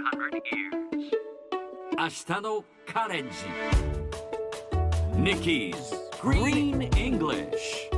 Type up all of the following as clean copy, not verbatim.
明日のカレンジ Nikki's Green English。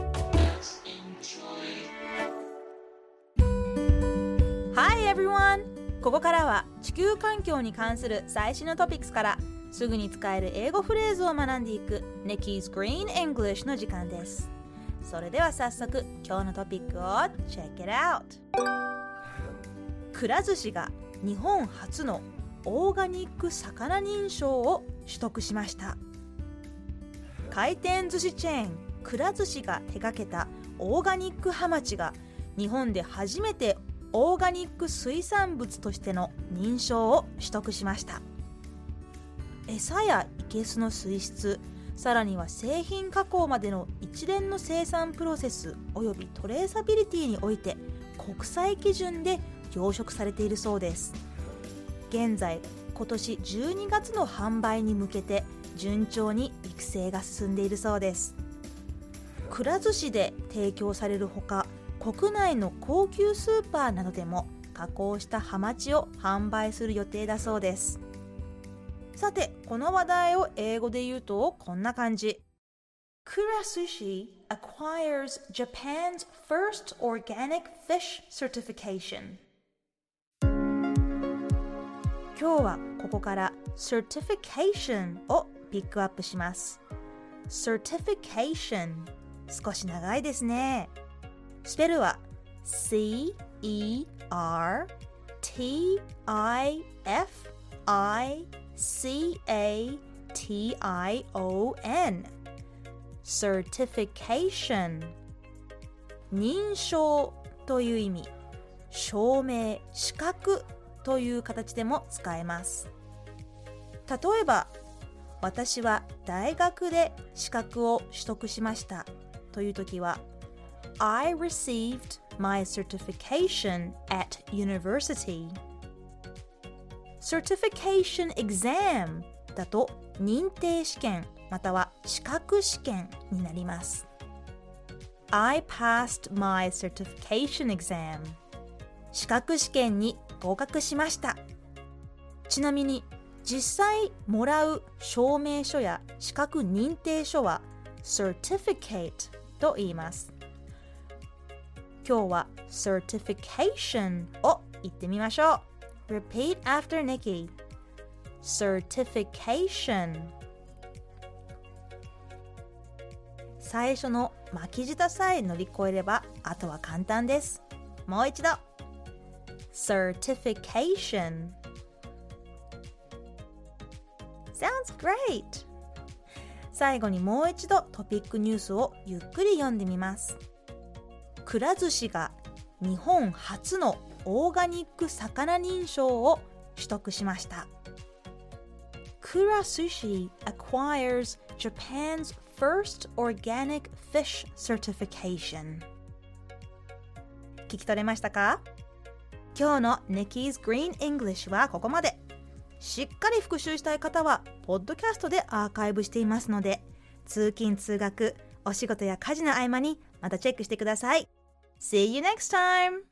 Hi everyone! ここからは地球環境に関する最新のトピックスからすぐに使える英語フレーズを学んでいく Nikki's Green English の時間です。それでは早速今日のトピックを Check it out! くら寿司が日本初のオーガニック魚認証を取得しました。回転寿司チェーンくら寿司が手掛けたオーガニックハマチが日本で初めてオーガニック水産物としての認証を取得しました。餌やいけすの水質、さらには製品加工までの一連の生産プロセスおよびトレーサビリティにおいて国際基準で養殖されているそうです。現在今年12月の販売に向けて順調に育成が進んでいるそうです。くら寿司で提供されるほか、国内の高級スーパーなどでも加工したハマチを販売する予定だそうです。さて、この話題を英語で言うとこんな感じ。くら寿司 acquires Japan's first organic fish certification。今日はここから certification をピックアップします。certification 少し長いですね。スペルは C-E-R-T-I-F-I-C-A-T-I-O-N certification 認証という意味、証明、資格という形でも使えます。例えば、私は大学で資格を取得しましたというときは、I received my certification at university. Certification exam だと認定試験または資格試験になります。I passed my certification exam. 資格試験に合格しました。ちなみに実際もらう証明書や資格認定書は certificate と言います。今日は certification を言ってみましょう。Repeat after Nikki. Certification。最初の巻き舌さえ乗り越えればあとは簡単です。もう一度。Certification。Sounds great! 最後にもう一度トピックニュースをゆっくり読んでみます。くら寿司が日本初のオーガニック魚認証を取得しました。くら寿司 acquires Japan's first organic fish certification。 聞き取れましたか？今日の Nikki's Green English はここまで。しっかり復習したい方はポッドキャストでアーカイブしていますので、通勤通学、お仕事や家事の合間にまたチェックしてください。See you next time!